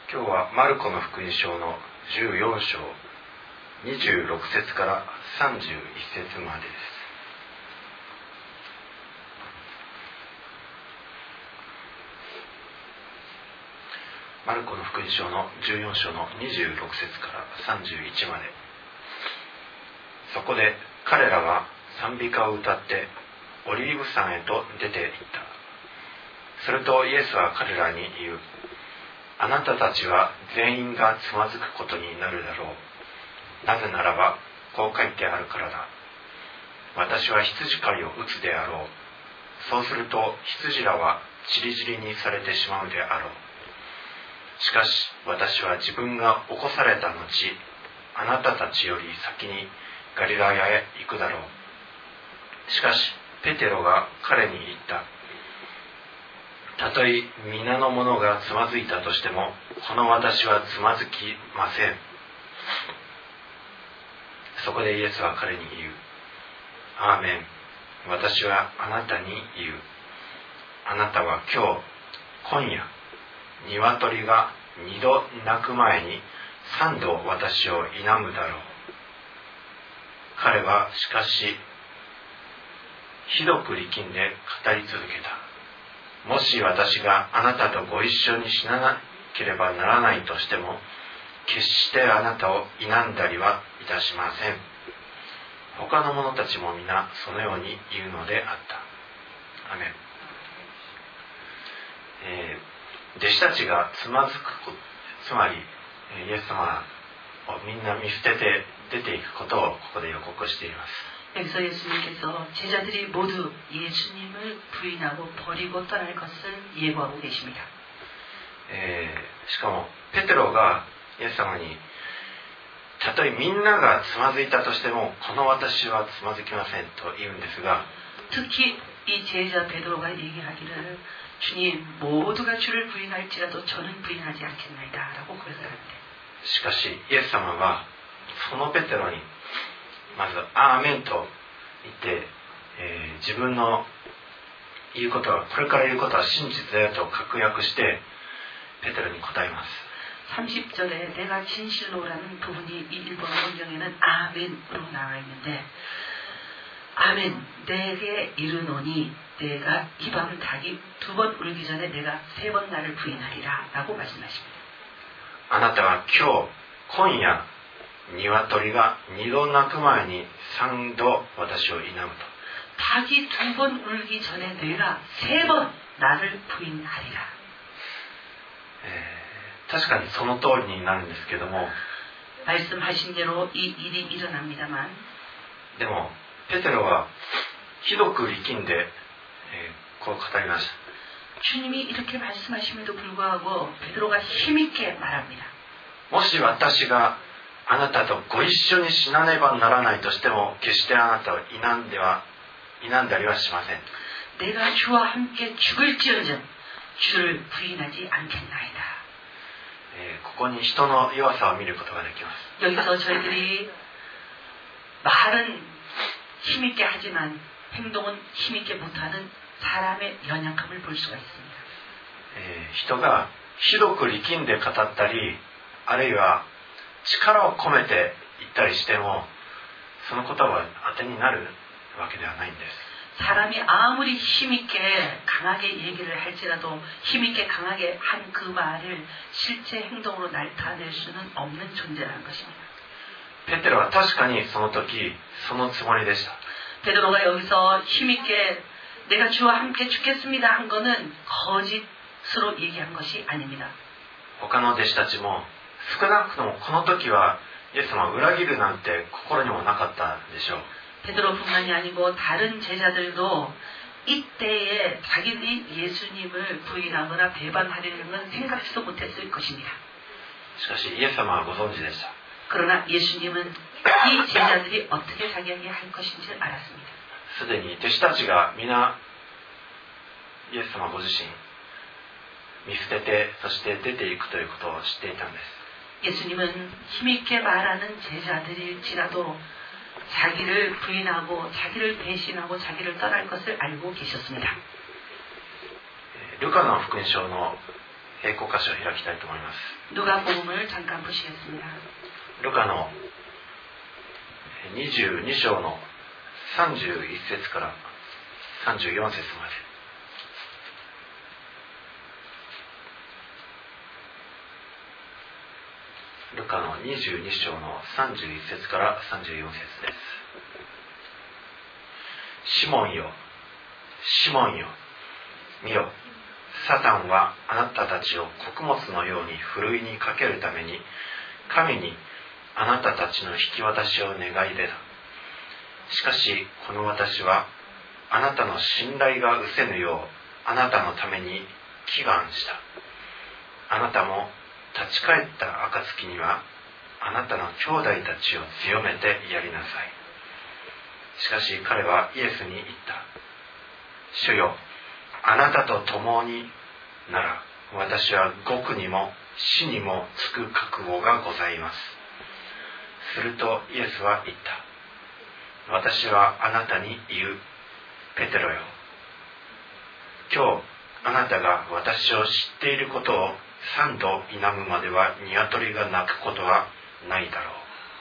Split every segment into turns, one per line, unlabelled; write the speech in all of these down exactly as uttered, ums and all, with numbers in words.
今日はマルコの福音書のじゅうよん章にじゅうろく節からさんじゅういち節までです。マルコの福音書のじゅうよん章のにじゅうろく節からさんじゅういちまで。そこで彼らは賛美歌を歌ってオリーブ山へと出て行った。するとイエスは彼らに言う。あなたたちは全員がつまずくことになるだろう。なぜならばこう書いてあるからだ。私は羊飼いを打つであろう。そうすると羊らはちりぢりにされてしまうであろう。しかし私は自分が起こされた後、あなたたちより先にガリラヤへ行くだろう。しかしペテロが彼に言った。たとえ皆の者がつまずいたとしても、この私はつまずきません。そこでイエスは彼に言う。アーメン。私はあなたに言う。あなたは今日、今夜、鶏が二度鳴く前に三度私を否むだろう。彼はしかし、ひどく力んで語り続けた。もし私があなたとご一緒に死ななければならないとしても、決してあなたを否んだりはいたしません。他の者たちも皆そのように言うのであった。アメン。えー、弟子たちがつまずくこと、つまりイエス様をみんな見捨てて出ていくことをここで予告しています。
여기서 예수님께서 제자들이 모두 예수님을 부인하고 버리고 떠날 것을 예고하고 계십니다.
しかもペテロがイエス様にたとえみんながつまずいたとしてもこの私はつまずきませんと言うんですが
특히 이 제자 베드로가 얘기하기를 주님 모두가 주를 부인할지라도 저는 부인하지 않겠나이다 라고 고백하는데
しかしイエス様はそのペテロにまずアーメンと言って、えー、自分の言うことはこれから言うことは真実だよと確約してペテロに答えます。
삼십 절에 내가 진실로라는 부분이 이 일본 성경에는 아멘으로 나와 있는데 아멘 내게 이르노니 내가 이 밤 닭이 두 번 울기 전에 내가 세 번 나를 부인하리라 라고 말씀하십니다.
あなたは今日今夜鶏が二度鳴く前に三度私を否むと。
닭이 두 번 울기 전에 내가 세 번 나를 부인하리라.
確かにその通りになるんですけども
말씀하신 대로 이 일이 일어납니다만
でもペテロはひどく力んで、えー、こう語りました。
주님이 이렇게 말씀하심에도 불구하고 베드로가 힘있게 말합니다.
もし私があなたとご一緒に死なねばならないとしても決してあなたを否んでは否んだりはしません。
내가 주와 함께 죽을지언정 주를 부인하지 않겠나이다.
えー、ここに人の弱さを見ることができます。
여기서 저희들이 말은 힘있게 하지만 행동은 힘있게 못하는 사람의 연약함을 볼 수가 있습니다.
えー、人がひどく力んで語ったりあるいは力を込めて言ったりしてもその言葉は当てになるわけではないんです。
사람이 아무리 힘있게 강하게 얘기를 할지라도 힘있게 강하게 한 그 말을 실제 행동으로 나타낼 수는 없는 존재라는 것입니다.
ペテロは確かにその時そのつもりでした。
베드로가 여기서 힘있게 내가 주와 함께 죽겠습니다 한 거는 거짓으로 얘기한 것이 아닙니다.
他の弟子たちも少なくともこの時はイエス様を裏切るなんて心にもなかったでしょう。
베드로뿐만이 아니고 다른 제자들도 이때에 자기들이 예수님을 부인하거나 배반하려는 건 생각지도 못했을 것입니다.
しかしイエス様はご存知でした。
그러나 예수님은 이 제자들이 어떻게 자기에게 할 것인지 알았습니다.
すでに弟子たちが皆イエス様ご自身見捨ててそして出ていくということを知っていたんです。
예수님은 힘있게 말하는 제자들일지라도 자기를 부인하고 자기를 배신하고 자기를 떠날 것을 알고 계셨습니다.
ルカの福音書の並行箇所を開きたいと思います。
누가복음을 잠깐 보시겠습니다.
ルカのにじゅうに章のさんじゅういっ節からさんじゅうよん節まで。ルカのにじゅうに章のさんじゅういっ節からさんじゅうよん節です。シモンよ、シモンよ、見よ、サタンはあなたたちを穀物のようにふるいにかけるために神にあなたたちの引き渡しを願い出た。しかしこの私はあなたの信頼が失せぬようあなたのために祈願した。あなたも立ち返った暁にはあなたの兄弟たちを強めてやりなさい。しかし彼はイエスに言った。主よ、あなたと共になら私は獄にも死にもつく覚悟がございます。するとイエスは言った。私はあなたに言う。ペテロよ、今日あなたが私を知っていることを三度否むまでは鶏が鳴くことはないだろう。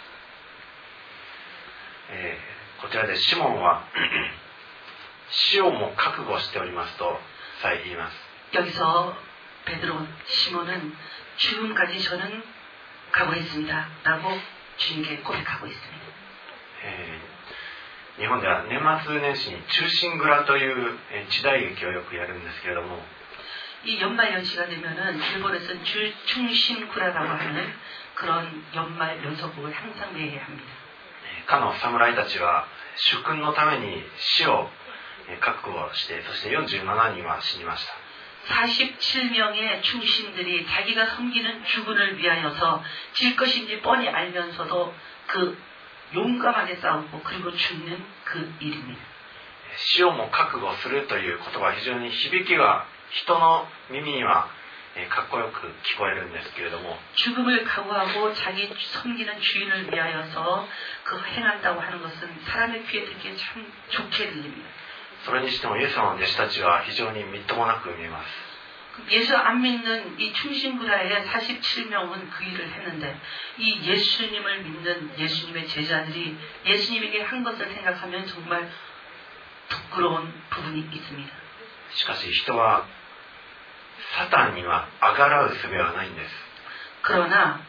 えー、こちらでシモンは死をも覚悟しておりますとさえ言います。
여기서 베드로 시몬은 죽음까지 저는 각오했습니다 라고 주님께 고백하고 있습니다.
えー日本では年末年始に忠臣蔵という時代劇をよくやるんですけれども、
이 연말 연시가 되면은 일본에서는 충신구라라고 하는 그런 연말 연속극을 항상 매해 합니다.
かの侍たちは主君のために死を覚悟して、そしてよんじゅうななにんは死にました。
사십칠 명의 충신들이 자기가 섬기는 주군을 위하여서 질 것인지 뻔히 알면서도 그 용감하게 싸우고 그리고 죽는 그 일입니다.
死をも覚悟するという言葉は非常に響きが人の耳にはかっこよく聞こえるんですけれども、
죽음을 각오하고 자기 섬기는 주인을 위하여서 그 행한다고 하는 것은 사람의 귀에 듣기에 참 좋게 들립니다.
それにしてもイエス様の弟子たちは非常にみっともなく見えます。
예수 안 믿는 이 충신구라의 사십칠 명은 그 일을 했는데 이 예수님을 믿는 예수님의 제자들이 예수님에게 한 것을 생각하면 정말 부끄러운 부분이 있습니다.
しかし人はサタンにはあがらう術はないんです。
그러나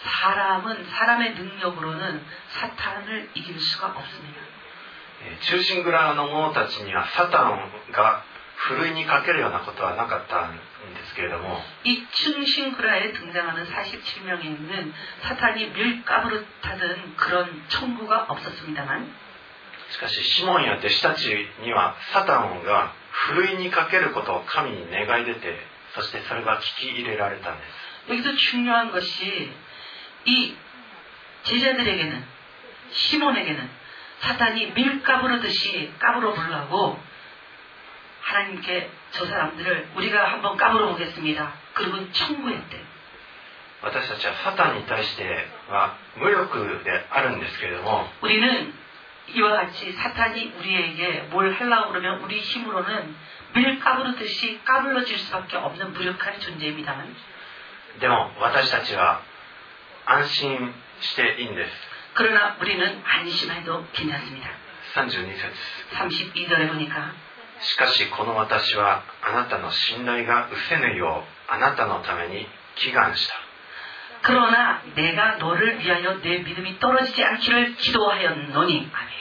사람은 사람의 능력으로는 사탄을 이길 수가 없습니다.
忠臣蔵の者たちにはサタンがふるいにかけるようなことはなかったんですけれども、
이 충신구라에 등장하는 사십칠 명에는 사탄이 밀가부를 타던 그런 청구가 없었습니다만,
しかしシモンや弟子たちにはサタンがふるいにかけることを神に願い出て、そしてそれが聞き入れられたんです。
여기서 중요한 것이 이 제자들에게는, 시몬에게는 사탄이 밀가부르듯이 까불어 보려고 하나님께 저 사람들을 우리가 한번 까불어 보겠습니다. 그리고 청구했대.
私たちはサタンに対しては無力であるんですけれども、
우리는 이와 같이 사탄이 우리에게 뭘 하려고 그러면 우리 힘으로는 밀 까부르듯이 까불러질 수밖에 없는 무력한 존재입니다만,
でも私たちは安心していいんです。
그러나 우리는 안심해도 괜찮습니다.
さんじゅうに節
삼십이 절에 보니까
しかしこの私はあなたの信頼が失せぬようあなたのために祈願した。
그러나 내가 너를 위하여 내 믿음이 떨어지지 않기를 기도하였노니. 아멘.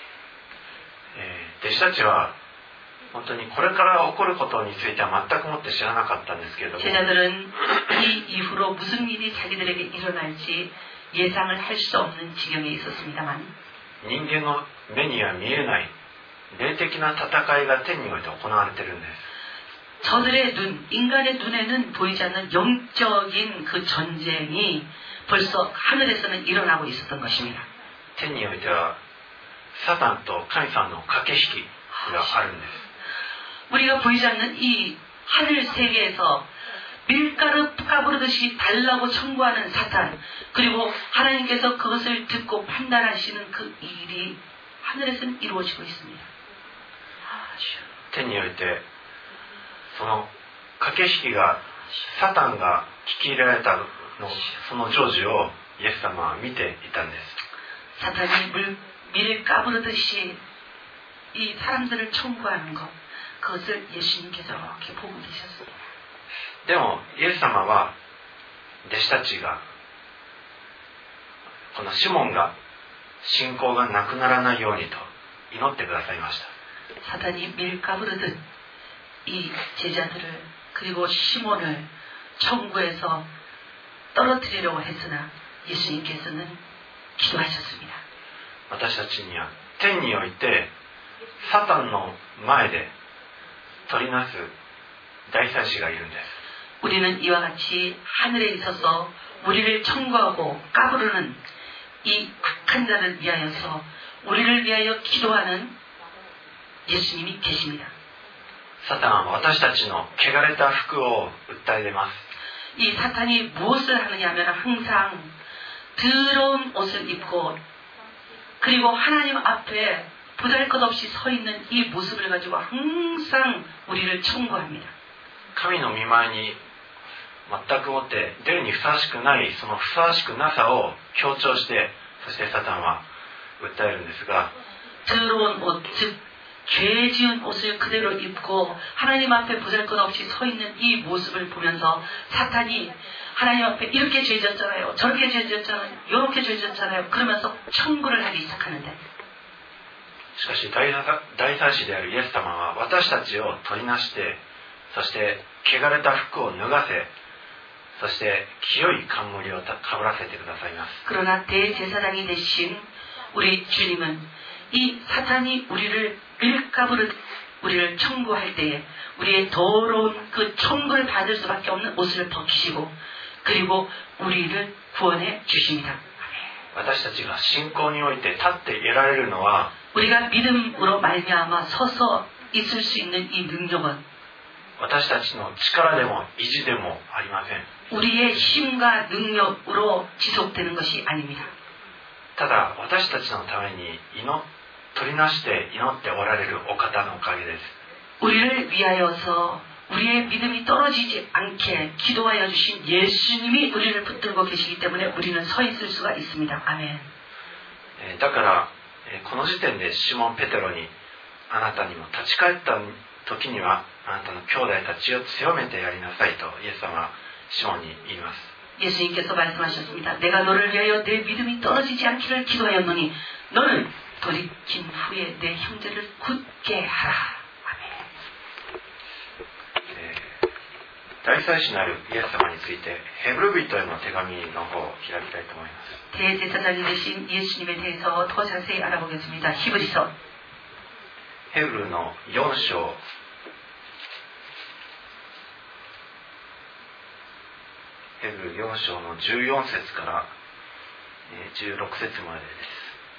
弟子たちは本当にこれから起こることについては全くもって知らなかったんですけれども、
제자들은 이 이후로 무슨 일이 자기들에게 일어날지 예상을 할 수 없는 지경에 있었습니다만,
人間の目には見えない霊的な戦いが天において行われているんです。
저들의 눈, 인간의 눈에는 보이지 않는 영적인 그 전쟁이 벌써 하늘에서는 일어나고 있었던 것입니다.
天においてはサタンと神様の駆け引きがあるんです。
우리가 보이지 않는 이 하늘 세계에서 밀가루 까부르듯이 달라고 청구하는 사탄, 그리고 하나님께서 그것을 듣고 판단하시는 그 일이 하늘에서는 이루어지고 있습니다.
天においてその駆け引きがサタンが聞き入れられたのその成就をイエス様は見ていたんです。
사탄이 물, 밀을 까부르듯이 이 사람들을 청구하는 것, 그것을 예수님께서 이렇게 보고 계셨습니다.
でもイエス様は弟子たちがこのシモンが信仰がなくならないようにと祈ってくださいました。
사탄이 밀 까부르듯 이 제자들을 그리고 시몬을 천국에서 떨어뜨리려고 했으나 예수님께서는 기도하셨습니다.
私たちには天においてサタンの前で取りなす大祭司がいるんです。
우리는 이와 같이 하늘에 있어서 우리를 청구하고 까부르는 이 악한 자를 위하여서 우리를 위하여 기도하는 예수님이 계십니다.
サタンは私たちの汚れた服を訴え出ます。
이 사탄이 무엇을 하느냐 하면 항상 더러운 옷을 입고 그리고 하나님 앞에 보잘것없이 서 있는 이 모습을 가지고 항상 우리를 청구합니다.
神の御前に全くもって出るにふさわしくないそのふさわしくなさを強調して、そしてサタンは訴えるんですが、
더러운 옷, 즉 죄 지은 옷을 그대로 입고 하나님 앞에 보잘것없이 서 있는 이 모습을 보면서 사탄이 하나님 앞에 이렇게 죄 지었잖아요, 저렇게 죄 지었잖아요, 이렇게 죄 지었잖아요 그러면서 청구를 하기 시작하는데,
しかし大祭司であるイエス様は私たちを取りなして、そして汚れた服を脱がせ、そして清い冠をかぶらせてくださいます。
그러나 대제사장이 되신 우리 주님은 이 사탄이 우리를 밀가부르 우리를 청구할 때에 우리의 더러운 그 청구를 받을 수밖에 없는 옷을 벗기시고 그리고 우리를 구원해 주십니다.
私たちが信仰において立って得られるのは
우리가 믿음으로 말미암아 서서 있을 수 있는 이 능력은
私たちの力でも意地でもありません。
우리의 힘과 능력으로 지속되는 것이 아닙니다.
ただ私たちのために祈取りなして祈っておられるお方のおかげです。
우리를 위하여서 우리의 믿음이 떨어지지 않게 기도하여 주신 예수님이 우리를 붙들고 계시기 때문에 우리는 서 있을 수가 있습니다. 아멘.
だからこの時点でシモン・ペテロにあなたにも立ち返った時にはあなたの兄弟たちを強めてやりなさいとイエス様はシモンに言います。
예수님께서 말씀하셨습니다. 내가 너를 위하여 내 믿음이 떨어지지 않기를 기도하였노니 너는 돌이킨 후에 내 형제를 굳게 하라. 아멘.
大祭司なるイエス様についてヘブル人への手紙の方を開きたいと思います。
대제사장이 되신 예수님에 대해서 더 자세히 알아보겠습니다. 히브리서
ヘブルのよん章ヘブルよん章のじゅうよん節からじゅうろく節までです。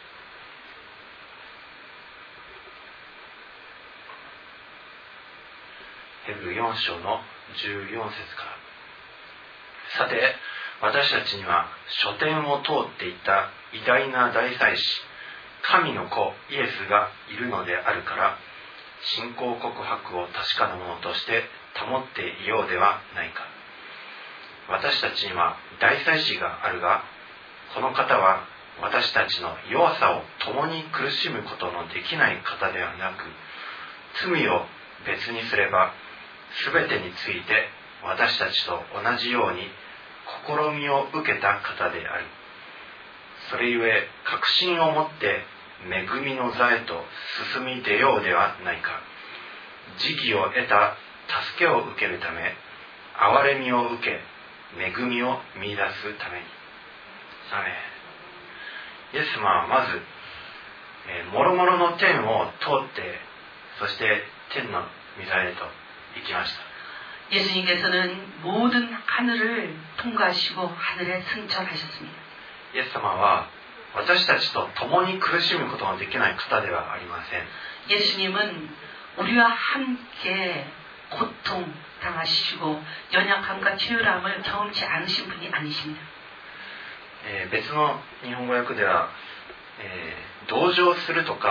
ヘブルよん章のじゅうよん節から。さて、私たちには書典を通っていた偉大な大祭司、神の子イエスがいるのであるから、信仰告白を確かなものとして保っていようではないか。私たちには大祭司があるが、この方は私たちの弱さを共に苦しむことのできない方ではなく、罪を別にすれば全てについて私たちと同じように試みを受けた方である。それゆえ確信を持って恵みの座へと進み出ようではないか。慈義を得た助けを受けるため、憐れみを受け、恵みを見出すために。アメン。イエス様はまず、えー、もろもろの天を通って、そして天の御座へと行きました。
예수님께서는 모든 하늘을 통과하시고 하늘에 승천하셨습니다.
イエス様は私たちと共に苦しむことのできない方ではありません。
예수님은 우리와 함께 고통 당하시고 연약함과 치유함을 경험치 않으신 분이 아니십니다.
えー、別の日本語訳では、えー、同情するとか、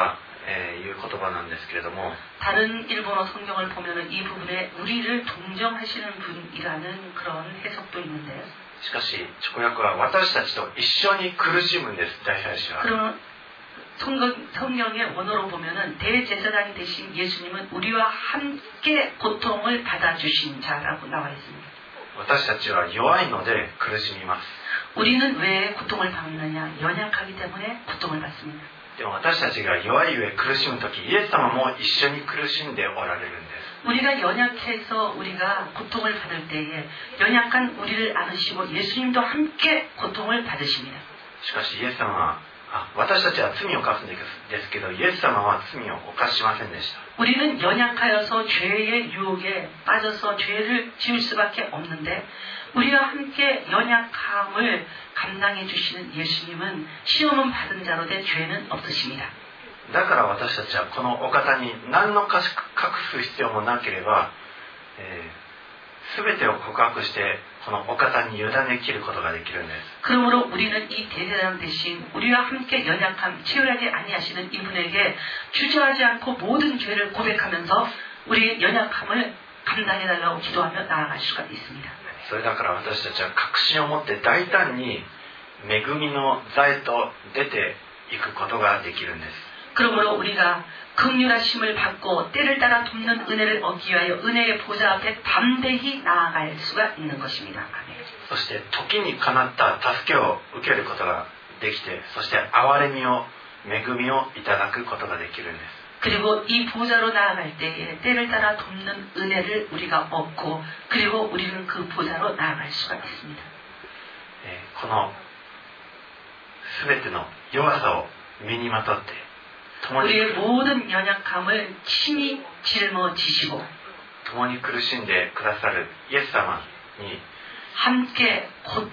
えーいう言葉なんですけれども、
다른 일본어 성경을 보면은 이 부분에 우리를 동정하시는 분이라는 그런 해석도 있는데,
しかし直訳は私たちと一緒に苦しむんです。大祭司は
그러면 성경, 성경의 원어로 보면은 대제사장이 되신 예수님은 우리와 함께 고통을 받아주신 자라고 나와 있습니다.
私たちは弱いので苦しみます。
우리는 왜 고통을 받느냐? 연약하기 때문에 고통을 받습니다.
でも私たちが弱い上苦しむとき、イエス様も一緒に苦しんでおられるんです。
우리가 연약해서 우리가 고통을 받을 때에 연약한 우리를 안으시고 예수님도 함께 고통을 받으십니다.
しかしイエス様は、あ、私たちは罪を犯すんですけど、イエス様は罪を犯しませんでした。
우리는 연약하여서 죄의 유혹에 빠져서 죄를 지을 수밖에 없는데, 우리와 함께 연약함을 감당해 주시는 예수님은 시험은 받은 자로 돼 죄는 없으십니다.
だから私たちはこのお方に何の隠す必要もなければ、えー、全てを告白してこのお方に委ねきることができるんです。
그러므로 우리는 이 대제사장 대신 우리와 함께 연약함, 치열하게 아니하시는 이분에게 주저하지 않고 모든 죄를 고백하면서 우리의 연약함을 감당해달라고 기도하며 나아갈 수가 있습니다.
それだから私たちは確信を持って大胆に恵みの座へと出ていくことができるんです。
그러므로 우리가 긍휼하심을 받고 때를 따라 돕는 은혜를 얻기 위하여 은혜의 보좌 앞에 담대히 나아갈 수가 있는 것입니다. 아멘.
そして時にかなった助けを受けることができて、そして憐れみを恵みをいただくことができるんです。
그리고 이 보좌로 나아갈 때에 때를 따라 돕는 은혜를 우리가 얻고, 그리고 우리는 그 보좌로 나아갈 수가 있습니다.
この全ての弱さを身にまとって
우리의 모든 연약함을 친히 짊어지시고
共に苦しんでくださるイエス様に
함께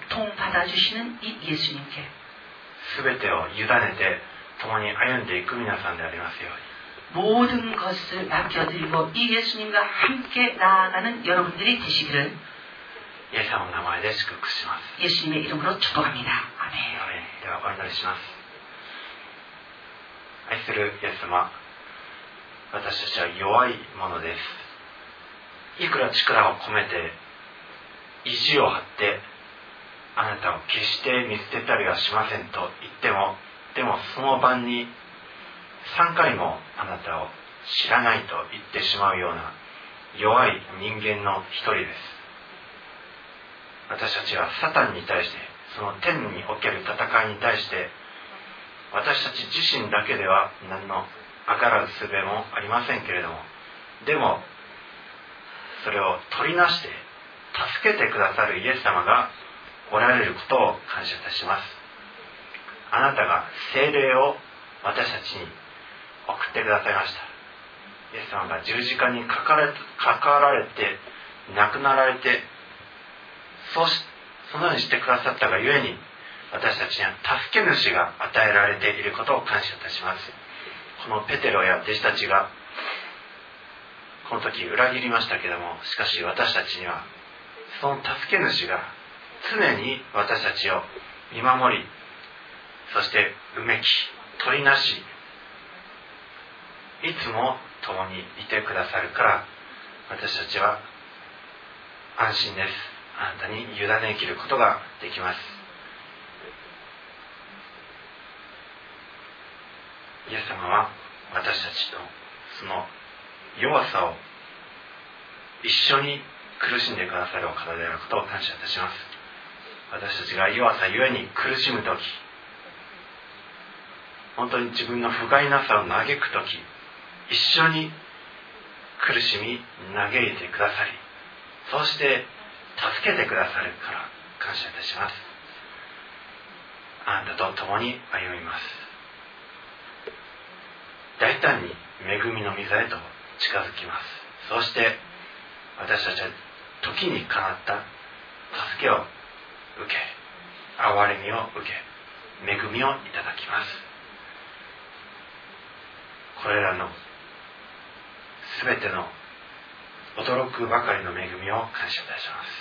고통받아주시는 이 예수님께
全てを委ねて共に歩んでいく皆さんでありますように。
모든 것을 맡겨드리고 이 예수님과 함께 나아가는 여러분들이 되시기를
イエス様の名前で祝福します。
예수님의 이름으로 축복합니다. 아멘.
ではお祈りします。愛するイエス様、私たちは弱いものです。いくら力を込めて意地を張ってあなたを決して見捨てたりはしませんと言っても、でもその晩にさんかいもあなたを知らないと言ってしまうような弱い人間の一人です。私たちはサタンに対して、その天における戦いに対して私たち自身だけでは何のあがらう術もありませんけれども、でもそれを取りなして助けてくださるイエス様がおられることを感謝いたします。あなたが聖霊を私たちに送ってくださいました。イエス様が十字架にかかられ、かかられて亡くなられて、そうしそのようにしてくださったがゆえに、私たちには助け主が与えられていることを感謝いたします。このペテロや弟子たちがこの時裏切りましたけれども、しかし私たちにはその助け主が常に私たちを見守り、そしてうめき取りなし、いつも共にいてくださるから、私たちは安心です。あなたに委ねきることができます。イエス様は私たちとその弱さを一緒に苦しんでくださるお方であることを感謝いたします。私たちが弱さゆえに苦しむとき、本当に自分の不甲斐なさを嘆くとき、一緒に苦しみ嘆いてくださり、そして助けてくださるから感謝いたします。あなたと共に歩みます。大胆に恵みの御座へと近づきます。そして私たちは時にかなった助けを受け、憐れみを受け、恵みをいただきます。これらのすべての驚くばかりの恵みを感謝いたします。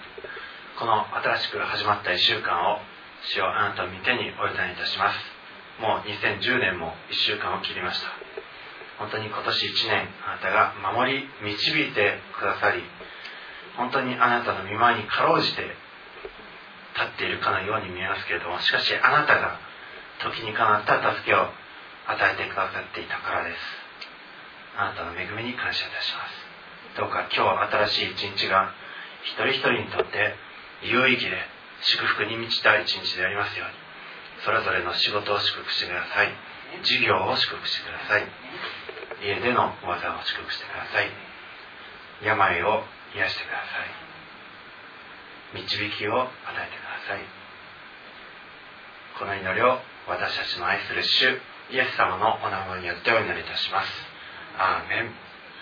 この新しく始まったいっしゅうかんを主よ、あなたの御手にお委ねいたします。 もうにせんじゅうねんもいっしゅうかんを切りました。本当に今年いちねんあなたが守り導いてくださり、本当にあなたの御前にかろうじて立っているかのように見えますけれども、しかしあなたが時にかなった助けを与えてくださっていたからです。あなたの恵みに感謝いたします。どうか今日新しい一日が一人一人にとって有意義で祝福に満ちた一日でありますように、それぞれの仕事を祝福してください。事業を祝福してください。家での技を祝福してください。病を癒してください。導きを与えてください。この祈りを私たちの愛する主イエス様のお名前によってお祈りいたします。アーメン。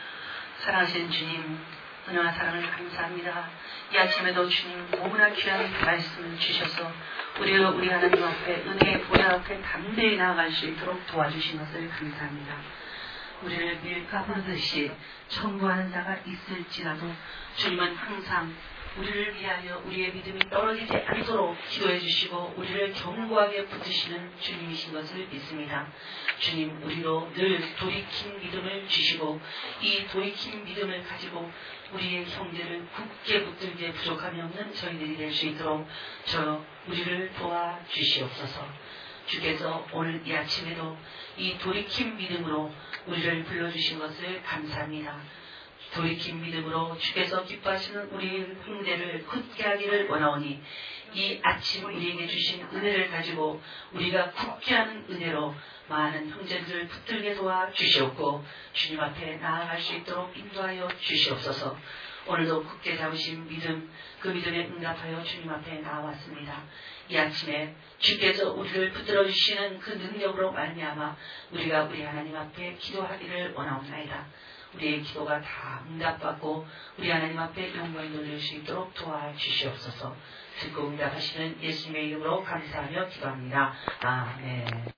사랑하신 주님, 은혜와 사랑을 감사합니다. 이 아침에도 주님 너무나 귀한 말씀을 주셔서 우리가 우리 하나님 앞에 은혜의 보좌 앞에 담대히 나아갈 수 있도록 도와주신 것을 감사합니다. 우리를 밀가 부르듯이 청구하는 자가 있을지라도 주님은 항상 우리를 위하여 우리의 믿음이 떨어지지 않도록 기도해 주시고 우리를 견고하게 붙드시는 주님이신 것을 믿습니다. 주님, 우리로 늘 돌이킨 믿음을 주시고 이 돌이킨 믿음을 가지고 우리의 형제를 굳게 붙들게 부족함이 없는 저희들이 될 수 있도록 저 우리를 도와주시옵소서. 주께서 오늘 이 아침에도 이 돌이킨 믿음으로 우리를 불러주신 것을 감사합니다. 돌이킨 믿음으로 주께서 기뻐하시는 우리 형제를 굳게 하기를 원하오니 이 아침 우리에게 주신 은혜를 가지고 우리가 굳게 하는 은혜로 많은 형제들을 붙들게 도와 주시옵고 주님 앞에 나아갈 수 있도록 인도하여 주시옵소서. 오늘도 굳게 잡으신 믿음, 그 믿음에 응답하여 주님 앞에 나왔습니다. 이 아침에 주께서 우리를 붙들어 주시는 그 능력으로 말미암아 우리가 우리 하나님 앞에 기도하기를 원하옵나이다. 우리의 기도가 다 응답받고 우리 하나님 앞에 영광을 돌릴 수 있도록 도와주시옵소서. 듣고 응답하시는 예수님의 이름으로 감사하며 기도합니다. 아멘.